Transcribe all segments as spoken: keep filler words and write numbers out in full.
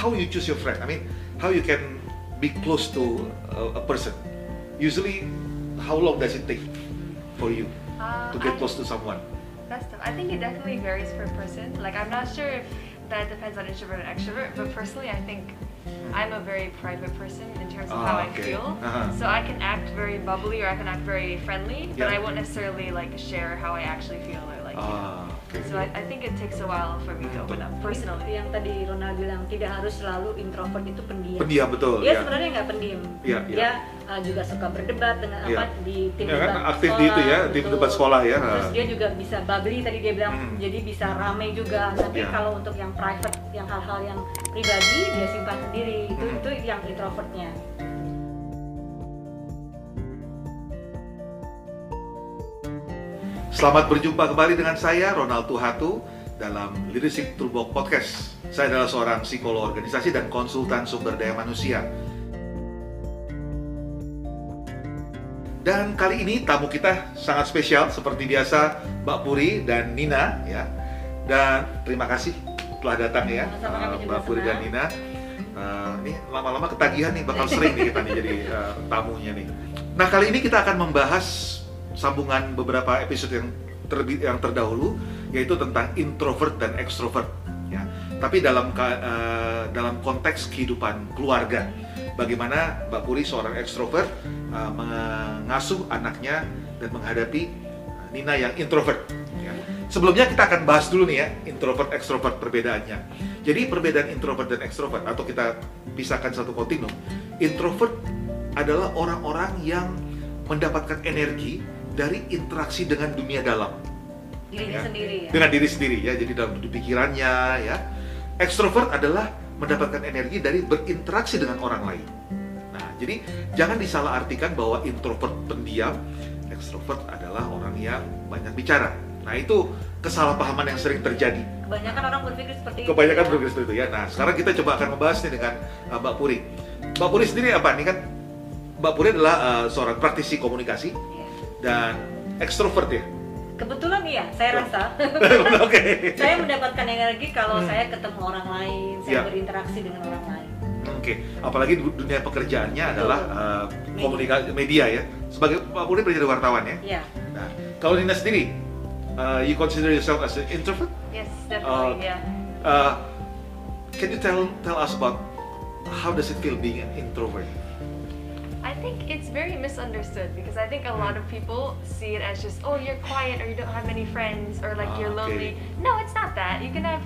how you choose your friend? I mean, how you can be close to a, a person? Usually, how long does it take for you Uh, to get I- close to someone? That's tough. I think it definitely varies per person. Like, I'm not sure if that depends on introvert or extrovert, but personally, I think I'm a very private person in terms of how Ah, I okay. feel. Uh-huh. So I can act very bubbly or I can act very friendly, but Yeah. I won't necessarily like share how I actually feel or like. Ah, okay. So I, I think it takes a while for me to open up personally. Yang tadi Ronald bilang tidak harus selalu introvert itu pendiam. Pendiam, betul, Dia ya. sebenarnya nggak pendiam. Iya, iya. Dia uh, juga suka berdebat dengan Iya. apa di tim Ya kan, debat aktif sekolah. di itu ya, tim betul. debat sekolah ya. Terus dia juga bisa bubbly tadi dia bilang, Hmm. jadi bisa ramai juga. Tapi Iya. kalau untuk yang private, yang hal-hal yang pribadi dia simpan sendiri. Itu Hmm. itu yang introvertnya. Selamat berjumpa kembali dengan saya, Ronald Tuhatu, dalam Leadership Toolbox Podcast. Saya adalah seorang psikolog organisasi dan konsultan sumber daya manusia. Dan kali ini tamu kita sangat spesial, seperti biasa Mbak Puri dan Nina, ya. Dan terima kasih telah datang ya, Sama-sama, kami uh, juga Mbak Puri dan senang. Nina. Uh, ini lama-lama ketagihan nih, bakal sering nih kita nih jadi uh, tamunya nih. Nah, kali ini kita akan membahas sambungan beberapa episode yang terlebih yang terdahulu, yaitu tentang introvert dan extrovert, ya. Tapi dalam ka- uh, dalam konteks kehidupan keluarga, bagaimana Mbak Puri seorang extrovert uh, mengasuh anaknya dan menghadapi Nina yang introvert. Ya. Sebelumnya kita akan bahas dulu nih ya, introvert extrovert perbedaannya. Jadi perbedaan introvert dan extrovert, atau kita pisahkan satu kontinum. Introvert adalah orang-orang yang mendapatkan energi dari interaksi dengan dunia dalam, Dirinya Ya. sendiri ya. dengan diri sendiri ya. Jadi dalam pikirannya ya. Extrovert adalah mendapatkan energi dari berinteraksi dengan orang lain. Nah, jadi jangan disalahartikan bahwa introvert pendiam, extrovert adalah orang yang banyak bicara. Nah, itu kesalahpahaman yang sering terjadi. Kebanyakan orang berpikir seperti itu. Kebanyakan ya. berpikir seperti itu ya. Nah, sekarang kita coba akan membahas nih dengan uh, Mbak Puri. Mbak Puri sendiri apa? Ini kan Mbak Puri adalah uh, seorang praktisi komunikasi Iya. dan ekstrovert ya. Kebetulan iya, saya rasa. Oke. Saya mendapatkan energi kalau Hmm. saya ketemu orang lain, saya Ya. berinteraksi dengan orang lain. Oke. Apalagi du- dunia pekerjaannya adalah uh, komunikasi media ya. Sebagai Mbak Puri menjadi wartawan ya. Iya. Nah, kalau Nina sendiri, uh, you consider yourself as an introvert? Yes, definitely, Uh, yeah. Uh, can you tell tell us about how does it feel being an introvert? I think it's very misunderstood because I think a lot of people see it as just, oh, you're quiet or you don't have many friends or like Ah, you're okay. lonely. No, it's not that. You can have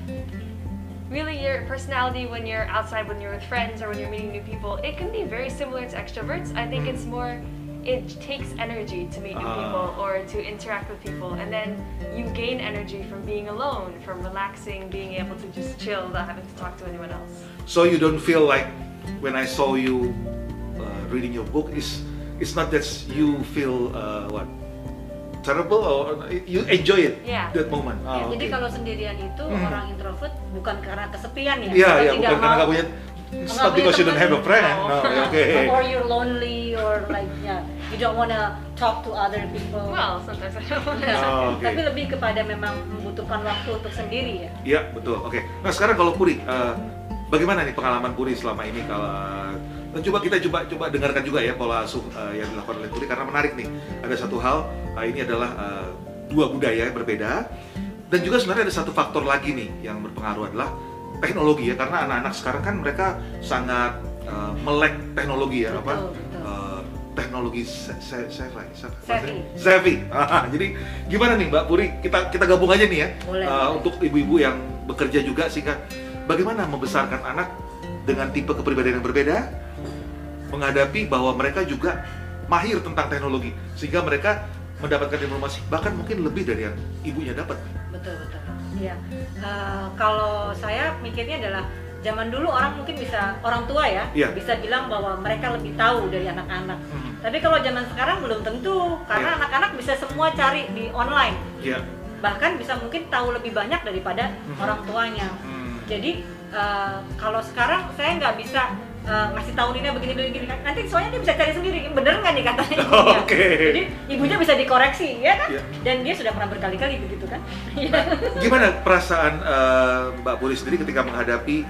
really your personality when you're outside, when you're with friends or when you're meeting new people. It can be very similar to extroverts. I think Mm. it's more, it takes energy to meet new Ah. people or to interact with people, and then you gain energy from being alone, from relaxing, being able to just chill without having to talk to anyone else. So you don't feel like when I saw you uh, reading your book is it's not that you feel uh, what terrible or you enjoy it Yeah. that moment. Ah, Jadi okay. kalau sendirian itu Hmm. orang introvert bukan karena kesepian ya. Iya, atau iya, tidak bukan karena mau- nggak punya. It's nggak not punya because you don't teman. have a friend. No. No, okay. Or you're lonely or like yeah, you don't wanna talk to other people. Well, sometimes I don't want to. Oh, okay. Tapi lebih kepada memang membutuhkan waktu untuk sendiri ya. Iya, betul. Oke. Nah, sekarang kalau Puri, uh, bagaimana nih pengalaman Puri selama ini? Kalau dan coba kita coba coba dengarkan juga ya pola asuh uh, yang dilakukan oleh Puri, karena menarik nih. Ada satu hal, uh, ini adalah uh, dua budaya yang berbeda, dan juga sebenarnya ada satu faktor lagi nih yang berpengaruh adalah teknologi ya, karena anak-anak sekarang kan mereka sangat uh, melek teknologi ya, Betul, apa? betul. Uh, teknologi se- se- savvy, se- Savvy. savvy. Ah, jadi gimana nih Mbak Puri? Kita kita gabung aja nih ya. Boleh, Uh, boleh. untuk ibu-ibu yang bekerja juga, sehingga bagaimana membesarkan anak dengan tipe kepribadian yang berbeda, menghadapi bahwa mereka juga mahir tentang teknologi, sehingga mereka mendapatkan informasi bahkan mungkin lebih dari yang ibunya dapat. Betul betul. Iya. Eh, kalau saya mikirnya adalah zaman dulu orang mungkin bisa orang tua ya Iya. bisa bilang bahwa mereka lebih tahu dari anak-anak. Hmm. Tapi kalau zaman sekarang belum tentu karena Iya. anak-anak bisa semua cari di online. Ya. Bahkan bisa mungkin tahu lebih banyak daripada Mhm. orang tuanya. Hmm. Jadi eh, kalau sekarang saya nggak bisa eh, ngasih tahu Nina begini begini kan. Nanti soalnya dia bisa cari sendiri, bener nggak nih katanya ibunya. Oke. Jadi ibunya bisa dikoreksi ya kan? Iya. Dan dia sudah pernah berkali-kali begitu kan? Gimana perasaan uh, Mbak Puri sendiri ketika menghadapi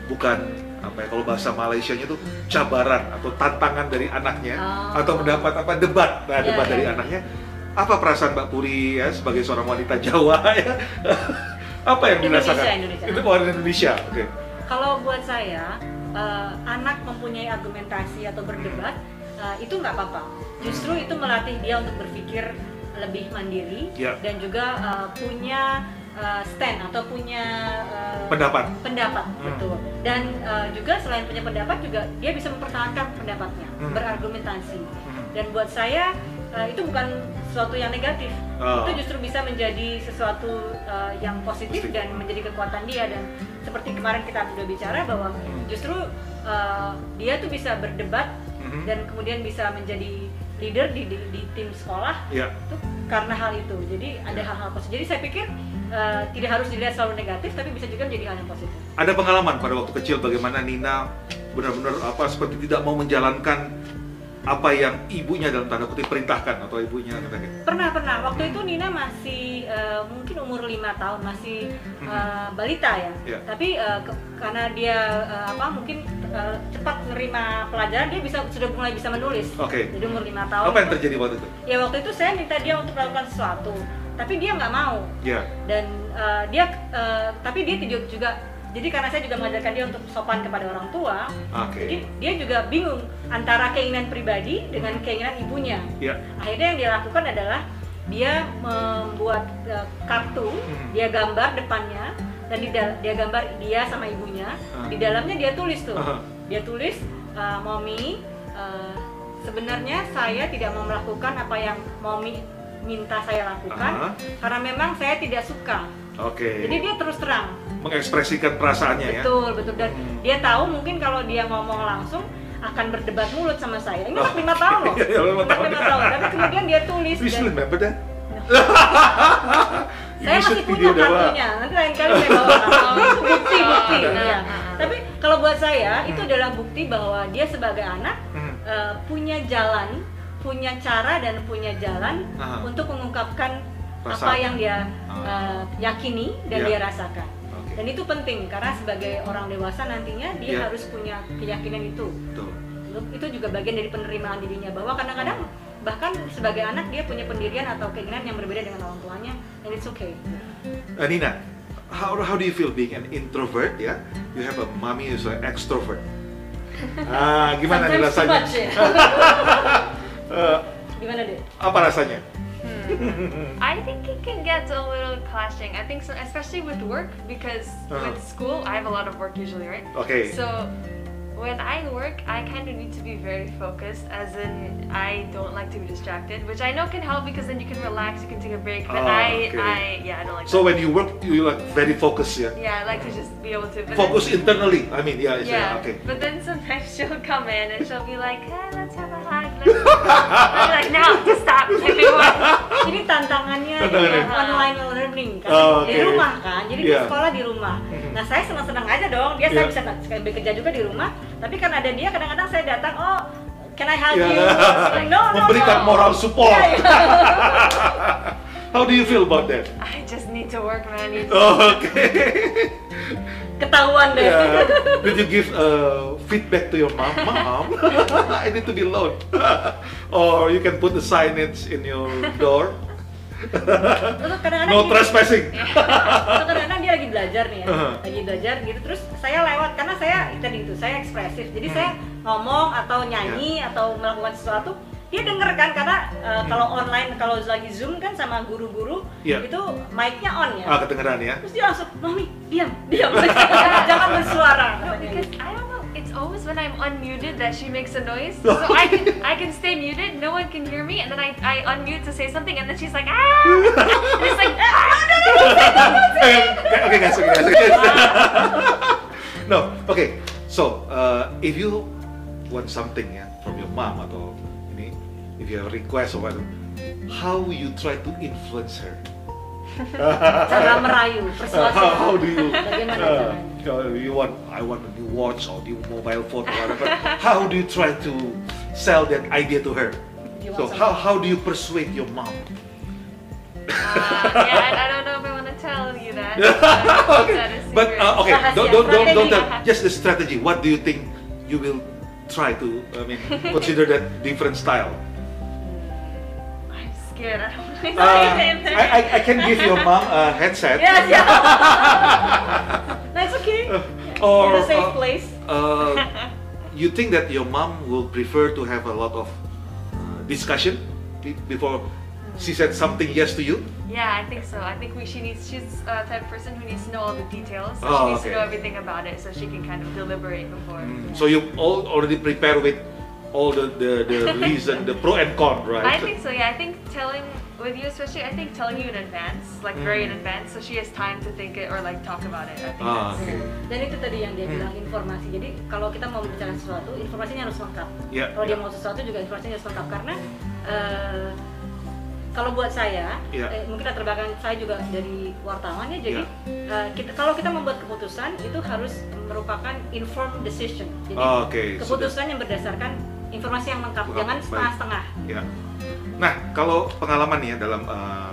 bukan apa ya, kalau bahasa Malaysianya itu cabaran atau tantangan dari anaknya, Oh. atau mendapat apa debat, nah, Ya, debat ya, dari ya. anaknya. Apa perasaan Mbak Puri ya sebagai seorang wanita Jawa ya? Apa yang Indonesia, dirasakan? Indonesia. Itu orang Indonesia, oke. Kalau buat saya, eh, anak mempunyai argumentasi atau berdebat, eh, itu nggak apa-apa. Justru itu melatih dia untuk berpikir lebih mandiri Ya. dan juga eh, punya eh, stand atau punya eh, Pendapat. pendapat, Hmm. betul. Dan eh, juga selain punya pendapat juga dia bisa mempertahankan pendapatnya, Hmm. berargumentasi. Hmm. Dan buat saya eh, itu bukan sesuatu yang negatif. Oh. Itu justru bisa menjadi sesuatu eh, yang positif Positif. dan menjadi kekuatan dia. Dan seperti kemarin kita sudah bicara bahwa Hmm. justru eh, dia tuh bisa berdebat Mhm. dan kemudian bisa menjadi leader di, di, di tim sekolah Ya. itu karena hal itu. Jadi ada hal-hal positif. Jadi saya pikir eh, tidak harus dilihat selalu negatif, tapi bisa juga menjadi hal yang positif. Ada pengalaman pada waktu kecil bagaimana Nina benar-benar apa seperti tidak mau menjalankan apa yang ibunya dalam tanda kutip perintahkan atau ibunya katakan. Pernah, pernah. Waktu itu Nina masih eh, mungkin umur lima tahun, masih eh, balita ya. Ya. Tapi eh, ke- karena dia eh, apa mungkin eh, cepat menerima pelajaran, dia bisa sudah mulai bisa menulis. Oke. Jadi umur lima tahun. Apa yang itu- terjadi waktu itu? Ya waktu itu saya minta dia untuk melakukan sesuatu, tapi dia nggak mau. Ya. Dan eh, dia, eh, tapi dia tidak juga. Jadi karena saya juga mengajarkan dia untuk sopan kepada orang tua, Oke. jadi dia juga bingung antara keinginan pribadi dengan keinginan ibunya. Ya. Akhirnya yang dia lakukan adalah dia membuat uh, kartu, Hmm. dia gambar depannya dan di dal- dia gambar dia sama ibunya. Ah. Di dalamnya dia tulis tuh, Aha. dia tulis, uh, Mommy, uh, sebenarnya saya tidak mau melakukan apa yang Mommy minta saya lakukan Aha. karena memang saya tidak suka. Oke. Jadi dia terus terang. Mengekspresikan perasaannya ya. Betul, betul. Dan Hmm. dia tahu mungkin kalau dia ngomong langsung akan berdebat mulut sama saya. Ini anak lima tahun loh. Iya, iya, lima Anak tahun. lima tahun. Tapi kemudian dia tulis. You still Dan remember that? saya You should masih punya video that, Wak. kartunya. Nanti lain kali saya bawa. Itu bukti, bukti. Oh, ya. nah. Tapi kalau buat saya itu Hmm. adalah bukti bahwa dia sebagai anak Hmm. eh, punya jalan, punya cara dan punya jalan Aha. untuk mengungkapkan apa Perasaan. yang dia Ah. eh, yakini dan Ya. dia rasakan. Oke. Dan itu penting karena sebagai orang dewasa nantinya dia Ya. harus punya keyakinan itu. Betul. Itu juga bagian dari penerimaan dirinya bahwa kadang-kadang bahkan sebagai anak dia punya pendirian atau keinginan yang berbeda dengan orang tuanya, and it's okay. Uh, Nina, how how do you feel being an introvert ya? You have a mommy who's an extrovert. Ah, gimana nih Sometimes too rasanya? much, ya. Eh, Gimana deh? apa rasanya? I think it can get a little clashing. I think so, especially with work, because Uh-huh. with school I have a lot of work usually, right? Okay. So when I work, I kind of need to be very focused, as in I don't like to be distracted, which I know can help because then you can relax, you can take a break. But Ah, I, okay. I, yeah, I don't like So that. when you work, you like very focused ya? Yeah, I like to just be able to. But Focus then, internally. I mean, yeah, it's, yeah, yeah, okay. but then sometimes she'll come in and she'll be like, hey, let's have a hug. Let's I'm like, no, just stop. Give me one. Ini tantangannya Tantangannya. di online learning kan, Oh, di okay. rumah kan, jadi Yeah. dia sekolah di rumah. Mhm. Nah saya senang-senang aja dong, dia saya Yeah. bisa sambil kerja juga di rumah, tapi kan ada dia kadang-kadang saya datang, oh can I help Yeah. you? Like, no, no, Memberikan no. moral support. Iya, iya. How do you feel about that? I just need to work, man. You Oh, okay. Ketahuan deh. Yeah. Did you give uh, feedback to your mom? Mom, I need to be alone. Or you can put the signage in your door. Terus kadang-kadang No gini, trespassing. terus kadang-kadang dia lagi belajar nih ya, Uh-huh. lagi belajar gitu, terus saya lewat karena saya tadi itu saya ekspresif, jadi saya ngomong atau nyanyi atau melakukan sesuatu, dia denger kan karena uh, kalau online kalau lagi zoom kan sama guru-guru Yeah. itu mic-nya on ya, Ah, kedengeran ya. terus dia langsung mami diam diam jangan bersuara. No, because I don't know. It's always when I'm unmuted that she makes a noise. So I can I can stay muted, no one can hear me, and then I, I unmute to say something, and then she's like ah, and it's like ah, no, no, no. Okay, okay, guys, okay, guys. Okay. No, okay. So, uh, if you want something ya from your mom atau ini, if you have a request or whatever, how you try to influence her? Cara merayu, persuasi. How, how do you? Bagaimana Uh, caranya? you want, I want a new watch or new mobile phone or whatever. How do you try to sell that idea to her? You So want how something? how do you persuade your mom? Uh, yeah, I, I don't know if I want to tell you that. But that is But secret. uh, okay, Rahasia, don't don't don't, don't tell. strategi. Just the strategy. What do you think you will try to? I mean, consider that different style. I'm scared. I don't know. Uh, I, I I can give your mom a headset. Yes, yeah. That's okay. Or In a safe uh, place. uh, you think that your mom will prefer to have a lot of uh, discussion be- before she said something yes to you? Yeah, I think so. I think we, she needs. She's a type of person who needs to know all the details. So Oh, she needs okay. to know everything about it, so she can kind of deliberate before. Mm, So you all already prepare with all the the, the reason, the pro and con, right? I think so. Yeah, I think telling with you especially. I think telling you in advance, like very in Mm. advance, so she has time to think it or like talk about it. I think Ah, that's. okay. Dan itu tadi yang dia Hmm. bilang informasi. Jadi kalau kita mau bicara sesuatu, informasinya harus lengkap. Ya, Kalau dia ya. mau sesuatu juga informasinya harus lengkap karena eh, kalau buat saya, Ya. eh, mungkin latar belakang saya juga dari wartawan ya. Jadi Ya. eh, kita kalau kita membuat keputusan itu harus merupakan informed decision. Jadi Oh, oke, keputusan yang berdasarkan informasi yang lengkap, Lengkap, jangan baik. setengah-setengah. Ya. Nah, kalau pengalaman nih ya dalam uh,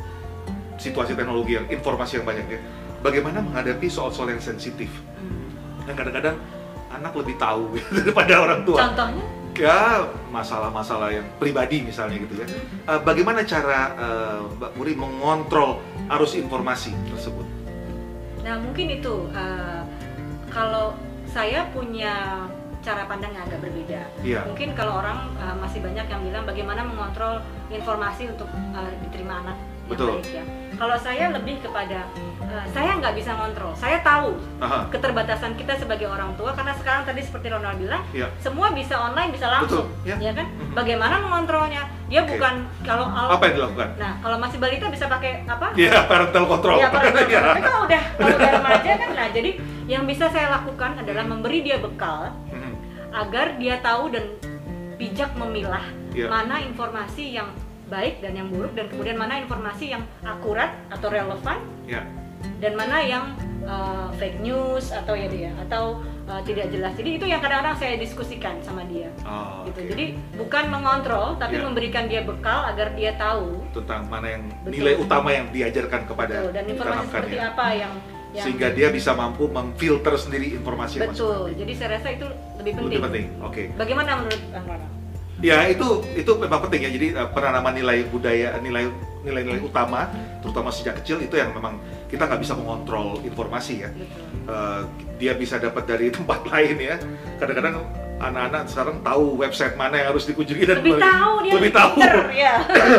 situasi teknologi yang informasi yang banyak ya, bagaimana menghadapi soal-soal yang sensitif? Hmm. Dan kadang-kadang anak lebih tahu daripada orang tua. Contohnya? Ya, masalah-masalah yang pribadi misalnya gitu ya. Uh, bagaimana cara uh, Mbak Puri mengontrol arus informasi tersebut? Nah mungkin itu uh, kalau saya punya cara pandang yang agak berbeda. Iya. Mungkin kalau orang uh, masih banyak yang bilang bagaimana mengontrol informasi untuk uh, diterima anak yang Betul. baik ya. Kalau saya lebih kepada uh, saya nggak bisa ngontrol. Saya tahu Aha. keterbatasan kita sebagai orang tua karena sekarang tadi seperti Ronald bilang Iya. semua bisa online bisa langsung, Betul, ya. ya kan? Mhm. Bagaimana mengontrolnya? Dia Oke. bukan kalau al- Apa yang dilakukan? Nah kalau masih balita bisa pakai apa? Ya, parental control. Iya, parental Ya. control. Tapi kalau udah kalau udah remaja kan, nah jadi yang bisa saya lakukan adalah memberi dia bekal Mhm. agar dia tahu dan bijak memilah Iya. mana informasi yang baik dan yang buruk dan kemudian mana informasi yang akurat atau relevan Ya. dan mana yang uh, fake news atau ya dia atau uh, tidak jelas. Jadi itu yang kadang-kadang saya diskusikan sama dia. Oh, Gitu. oke. Jadi bukan mengontrol tapi Iya. memberikan dia bekal agar dia tahu Tentang mana yang Betul. nilai utama yang diajarkan kepada betul, dan informasi anak-anak seperti ya. apa yang yang Sehingga dia bisa mampu memfilter sendiri informasi yang masuk. betul. Jadi saya rasa itu lebih penting. Lebih penting. Oke. Bagaimana menurut Kang Ronald? Ya itu itu memang penting ya. Jadi uh, penanaman nilai budaya, nilai nilai-nilai utama, terutama sejak kecil itu yang memang kita nggak bisa mengontrol informasi ya. Betul. Uh, dia bisa dapat dari tempat lain ya. Kadang-kadang anak-anak sekarang tahu website mana yang harus dikunjungi dan Lebih tahu dia lebih tahu. pinter, ya.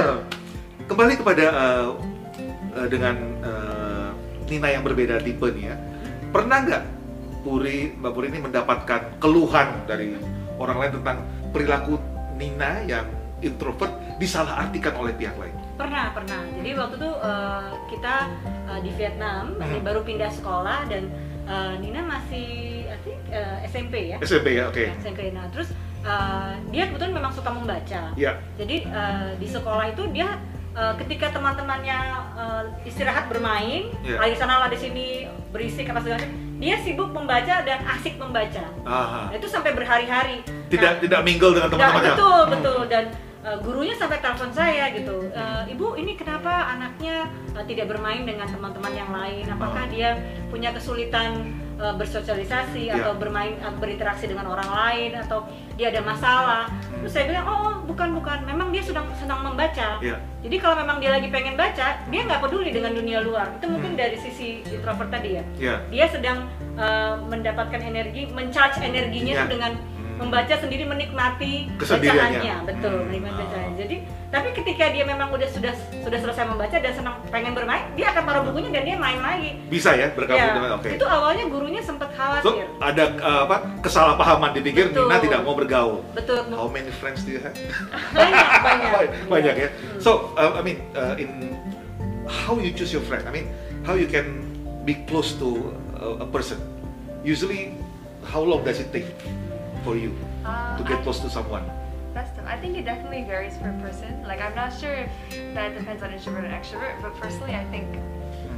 Kembali kepada uh, uh, dengan uh, Nina yang berbeda tipe nih ya. Pernah nggak Puri, Mbak Puri ini mendapatkan keluhan dari orang lain tentang perilaku Nina yang introvert disalahartikan oleh pihak lain? Pernah, pernah. Jadi waktu itu uh, kita uh, di Vietnam, masih Hmm. baru pindah sekolah dan uh, Nina masih I think, uh, S M P ya. S M P ya, oke. S M P. Nah, terus uh, dia kebetulan memang suka membaca. Ya, Jadi uh, di sekolah itu dia uh, ketika teman-temannya uh, istirahat bermain, Iya. lagi sana lah di sini berisik apa segala macam, dia sibuk membaca dan asik membaca. aha. Nah, itu sampai berhari-hari. Tidak tidak mingle dengan Nggak, teman-temannya. betul, Hmm. betul. Dan uh, gurunya sampai telepon saya gitu, "E, Ibu ini kenapa anaknya uh, tidak bermain dengan teman-teman yang lain? Apakah Oh. dia punya kesulitan uh, bersosialisasi Iya. atau bermain uh, berinteraksi dengan orang lain atau dia ada masalah?" Terus saya bilang, "Oh bukan bukan, memang dia sedang senang membaca. Iya. Jadi kalau memang dia lagi pengen baca, dia nggak peduli dengan dunia luar. Itu mungkin Hmm. dari sisi introvert tadi ya. Ya. Dia sedang uh, mendapatkan energi, mencharge energinya Iya. itu dengan Hmm. membaca sendiri, menikmati Kesendiriannya. bacaannya, betul, Hmm. menikmati Oh. bacaannya. Jadi, tapi ketika dia memang udah sudah sudah selesai membaca dan senang pengen bermain, dia akan taruh bukunya dan dia main lagi. Bisa ya bergabung Ya, dengan oke. itu awalnya gurunya sempat So, khawatir. ada uh, apa kesalahpahaman dipikir Betul. Nina tidak mau bergaul. Betul, How many friends do you have? banyak banyak. Banyak ya. Hmm. So, uh, I mean, uh, in how you choose your friend? I mean, how you can be close to a, a person? Usually, how long does it take for you Uh, to get I- close to someone? That's tough. I think it definitely varies per person. Like, I'm not sure if that depends on introvert and extrovert, but personally, I think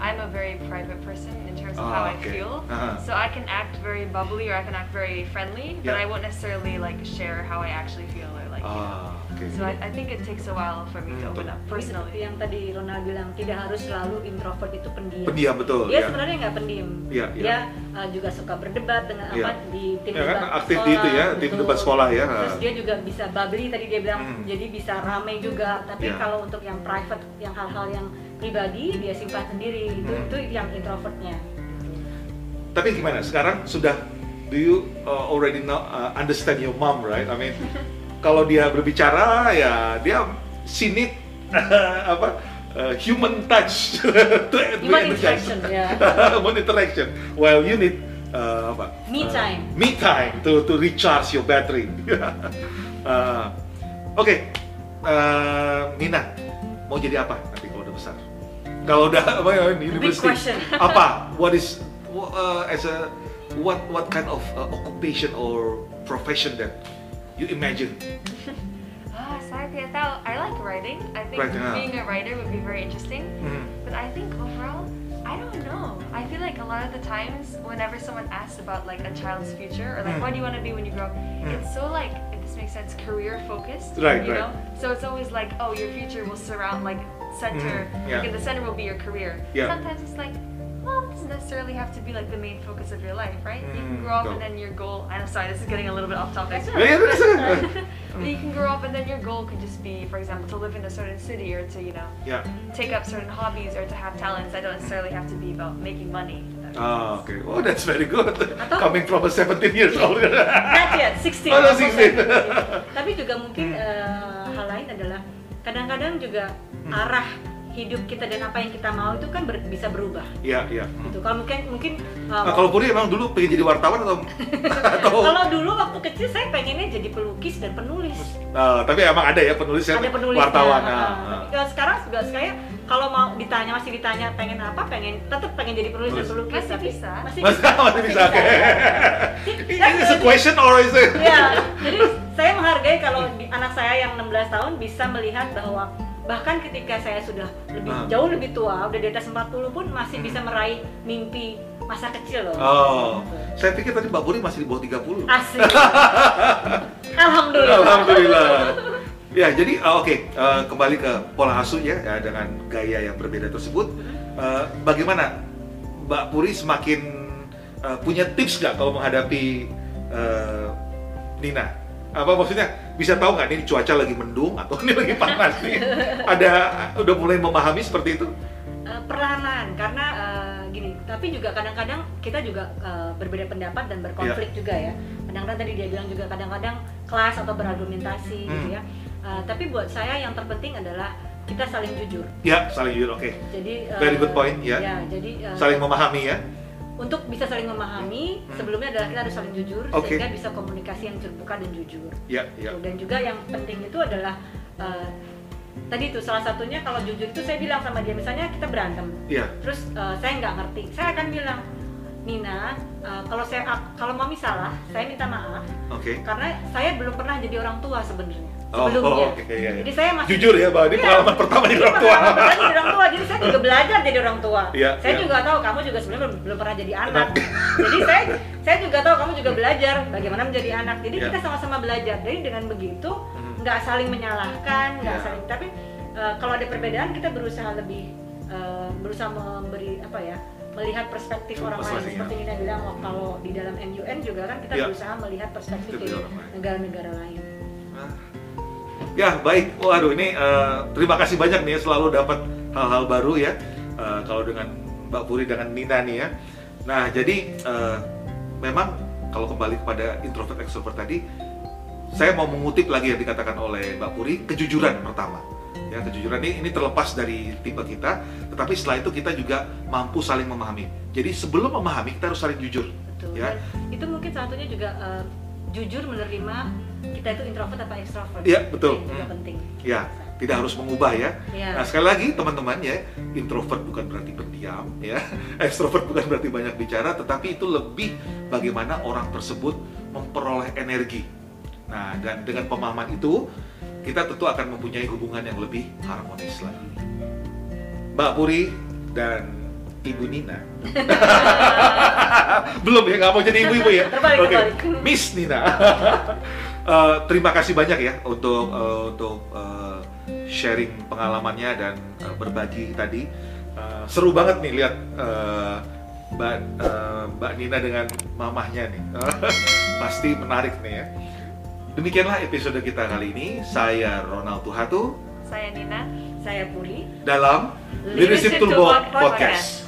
I'm a very private person in terms of Ah, how I okay. feel. Uh-huh. So I can act very bubbly or I can act very friendly, but Yeah. I won't necessarily like share how I actually feel or like. Ah, oke. So I, I think it takes a while for me to Hmm, open up Tapi seperti personally. yang tadi Ronald bilang, tidak harus selalu introvert itu pendiam. Pendiam, betul, Dia ya. sebenarnya nggak pendiam. Iya, iya. Dia uh, juga suka berdebat dengan Iya. apa di tim Ya kan, debat aktif sekolah. di itu ya, tim betul. debat sekolah ya. Terus dia juga bisa bubbly tadi dia bilang, Hmm. jadi bisa ramai juga. Tapi Iya. kalau untuk yang private, yang hal-hal yang pribadi dia simpan sendiri. Itu Hmm. itu yang introvertnya. Tapi gimana? Sekarang sudah do you uh, already know, uh, understand your mom, right? I mean, kalau dia berbicara ya dia she need apa uh, human touch to, to Human energize. interaction, ya. Human interaction. While you need uh, apa? Me Uh, time. me time to to recharge your battery. uh, Oke, okay. uh, Nina mau jadi apa nanti kalau udah besar? Kalau udah apa ya, university? question. Apa? What is uh, as a what what kind of uh, occupation or profession that you imagine? Ah, saya tidak tahu. I like writing. I think Writing, ah. being a writer would be very interesting. Hmm. But I think overall, I don't know. I feel like a lot of the times, whenever someone asks about like a child's future or like Mm. what do you want to be when you grow up, Mm. it's so like, if this makes sense, career focused. Right, you right. know. So it's always like, oh, your future will surround like center. Mm, yeah. Like in the center will be your career. Yeah. Sometimes it's like, well, it doesn't necessarily have to be like the main focus of your life, right? You can Mm, grow up betul. and then your goal. I'm sorry, this is getting a little bit off topic. That's Ya, ya, terus, terus. But you can grow up and then your goal could just be, for example, to live in a certain city or to, you know, Ya. take up certain hobbies or to have talents that don't necessarily have to be about making money. if that makes Ah, sense. oke. Oh, that's very good. Atau- Coming from a seventeen years old. Not yet, sixteen. Oh, no, almost sixteen. seventeen. Tapi juga mungkin Hmm. eh, hal lain adalah kadang-kadang juga Hmm. arah hidup kita dan apa yang kita mau itu kan ber- bisa berubah. Iya, iya. Hmm. Gitu. Kalau mungkin mungkin eh, Nah, kalau Puri emang dulu pengen jadi wartawan atau atau kalau dulu waktu kecil saya pengennya jadi pelukis dan penulis. Nah, tapi emang ada ya penulis yang Ada penulisnya. wartawan. Nah, Nah, tapi kalau sekarang juga saya kalau mau ditanya masih ditanya pengen apa, pengen tetap pengen jadi penulis dan Penulis. pelukis. Masih tapi bisa. Masih Mas, bisa. masih bisa. Oke. Dan Is it a jadi- question or is it? Ya, jadi saya menghargai kalau di- anak saya yang enam belas tahun bisa melihat bahwa bahkan ketika saya sudah lebih Ah. jauh lebih tua, udah di atas empat puluh pun masih Hmm. bisa meraih mimpi masa kecil loh. Oh, Gitu. saya pikir tadi Mbak Puri masih di bawah tiga puluh. Asik. Alhamdulillah. Alhamdulillah. Ya, jadi uh, oke, uh, kembali ke pola asuh ya, ya dengan gaya yang berbeda tersebut. Uh, bagaimana Mbak Puri semakin uh, punya tips nggak kalau menghadapi uh, Nina? Apa maksudnya? Bisa tahu nggak ini cuaca lagi mendung atau ini lagi panas nih? Ada udah mulai memahami seperti itu? Eh, perlahan-lahan karena eh, gini, tapi juga kadang-kadang kita juga eh, berbeda pendapat dan berkonflik juga ya. Kadang-kadang tadi dia bilang juga kadang-kadang kelas atau berargumentasi gitu Hmm. ya. Eh, tapi buat saya yang terpenting adalah kita saling jujur. Ya, saling jujur. Oke. Jadi eh, Very good point, ya. Ya, jadi eh, Saling memahami ya. untuk bisa saling memahami, Hmm. sebelumnya adalah kita harus saling jujur Oke. sehingga bisa komunikasi yang terbuka dan jujur. Ya, ya. Dan juga yang penting itu adalah eh, tadi itu salah satunya kalau jujur itu saya bilang sama dia, misalnya kita berantem, Iya. terus eh, saya nggak ngerti, saya akan bilang, Nina, eh, kalau saya kalau mami salah, saya minta maaf Oke. karena saya belum pernah jadi orang tua sebenarnya. Oh, Sebelumnya. oh, oke, iya, iya. Jadi saya masih Jujur ya, Mbak, ini Iya. pengalaman pertama jadi Ini orang tua. pengalaman pertama jadi orang tua, jadi saya juga belajar jadi orang tua. Iya, saya iya. juga tahu kamu juga sebenarnya belum, belum pernah jadi anak. Jadi saya saya juga tahu kamu juga belajar bagaimana menjadi anak. Jadi Iya. kita sama-sama belajar. Jadi dengan begitu Mhm. nggak saling menyalahkan, nggak Iya. saling. Tapi eh, kalau ada perbedaan kita berusaha lebih eh, berusaha memberi apa ya? Melihat perspektif orang lain. Perspektif, Seperti Nina bilang oh, kalau di dalam M U N juga kan kita Iya. berusaha melihat perspektif Perspektif dari orang lain. negara-negara lain. Nah. Ya, baik. Waduh, ini uh, terima kasih banyak nih ya, selalu dapat hal-hal baru ya. Uh, kalau dengan Mbak Puri dengan Nina nih ya. Nah, jadi uh, memang kalau kembali kepada introvert extrovert tadi, saya mau mengutip lagi yang dikatakan oleh Mbak Puri, kejujuran pertama. Ya, kejujuran ini, ini terlepas dari tipe kita, tetapi setelah itu kita juga mampu saling memahami. Jadi sebelum memahami kita harus saling jujur. Betul. Ya. Dan itu mungkin salah satunya juga eh, jujur menerima kita itu introvert apa extrovert. Iya, betul. Itu juga Hmm. penting. Ya, tidak harus mengubah ya. Iya. Nah, sekali lagi teman-teman ya, introvert bukan berarti pendiam ya, ekstrovert bukan berarti banyak bicara, tetapi itu lebih bagaimana orang tersebut memperoleh energi. Nah, dan dengan pemahaman itu kita tentu akan mempunyai hubungan yang lebih harmonis lagi. Mbak Puri dan Ibu Nina. Belum ya, nggak mau jadi ibu-ibu ya. Terbalik, Oke, terbalik. Miss Nina. Uh, terima kasih banyak ya untuk uh, untuk uh, sharing pengalamannya dan uh, berbagi tadi. Uh, seru banget nih lihat uh, Mbak uh, Mbak Nina dengan mamahnya nih. Pasti menarik nih ya. Demikianlah episode kita kali ini. Saya Ronald Tuhatu. Saya Nina. Saya Puri. Dalam Leadership Leadership Toolbox Toolbox Podcast.